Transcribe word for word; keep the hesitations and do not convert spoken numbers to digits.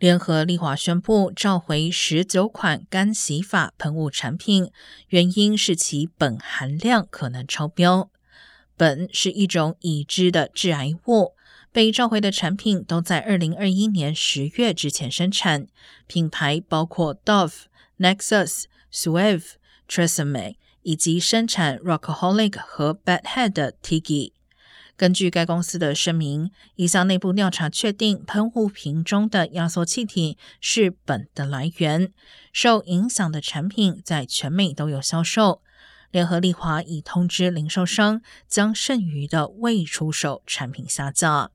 联合利华宣布召回十九款干洗发喷雾产品，原因是其苯含量可能超标。苯是一种已知的致癌物，被召回的产品都在二零二一年十月之前生产，品牌包括 Dove、Nexus、Suave、Tresemme 以及生产 Rockaholic 和 Bad Head 的 Tiggy。根据该公司的声明，一项内部调查确定喷雾瓶中的压缩气体是苯的来源，受影响的产品在全美都有销售。联合利华已通知零售商将剩余的未出手产品下架。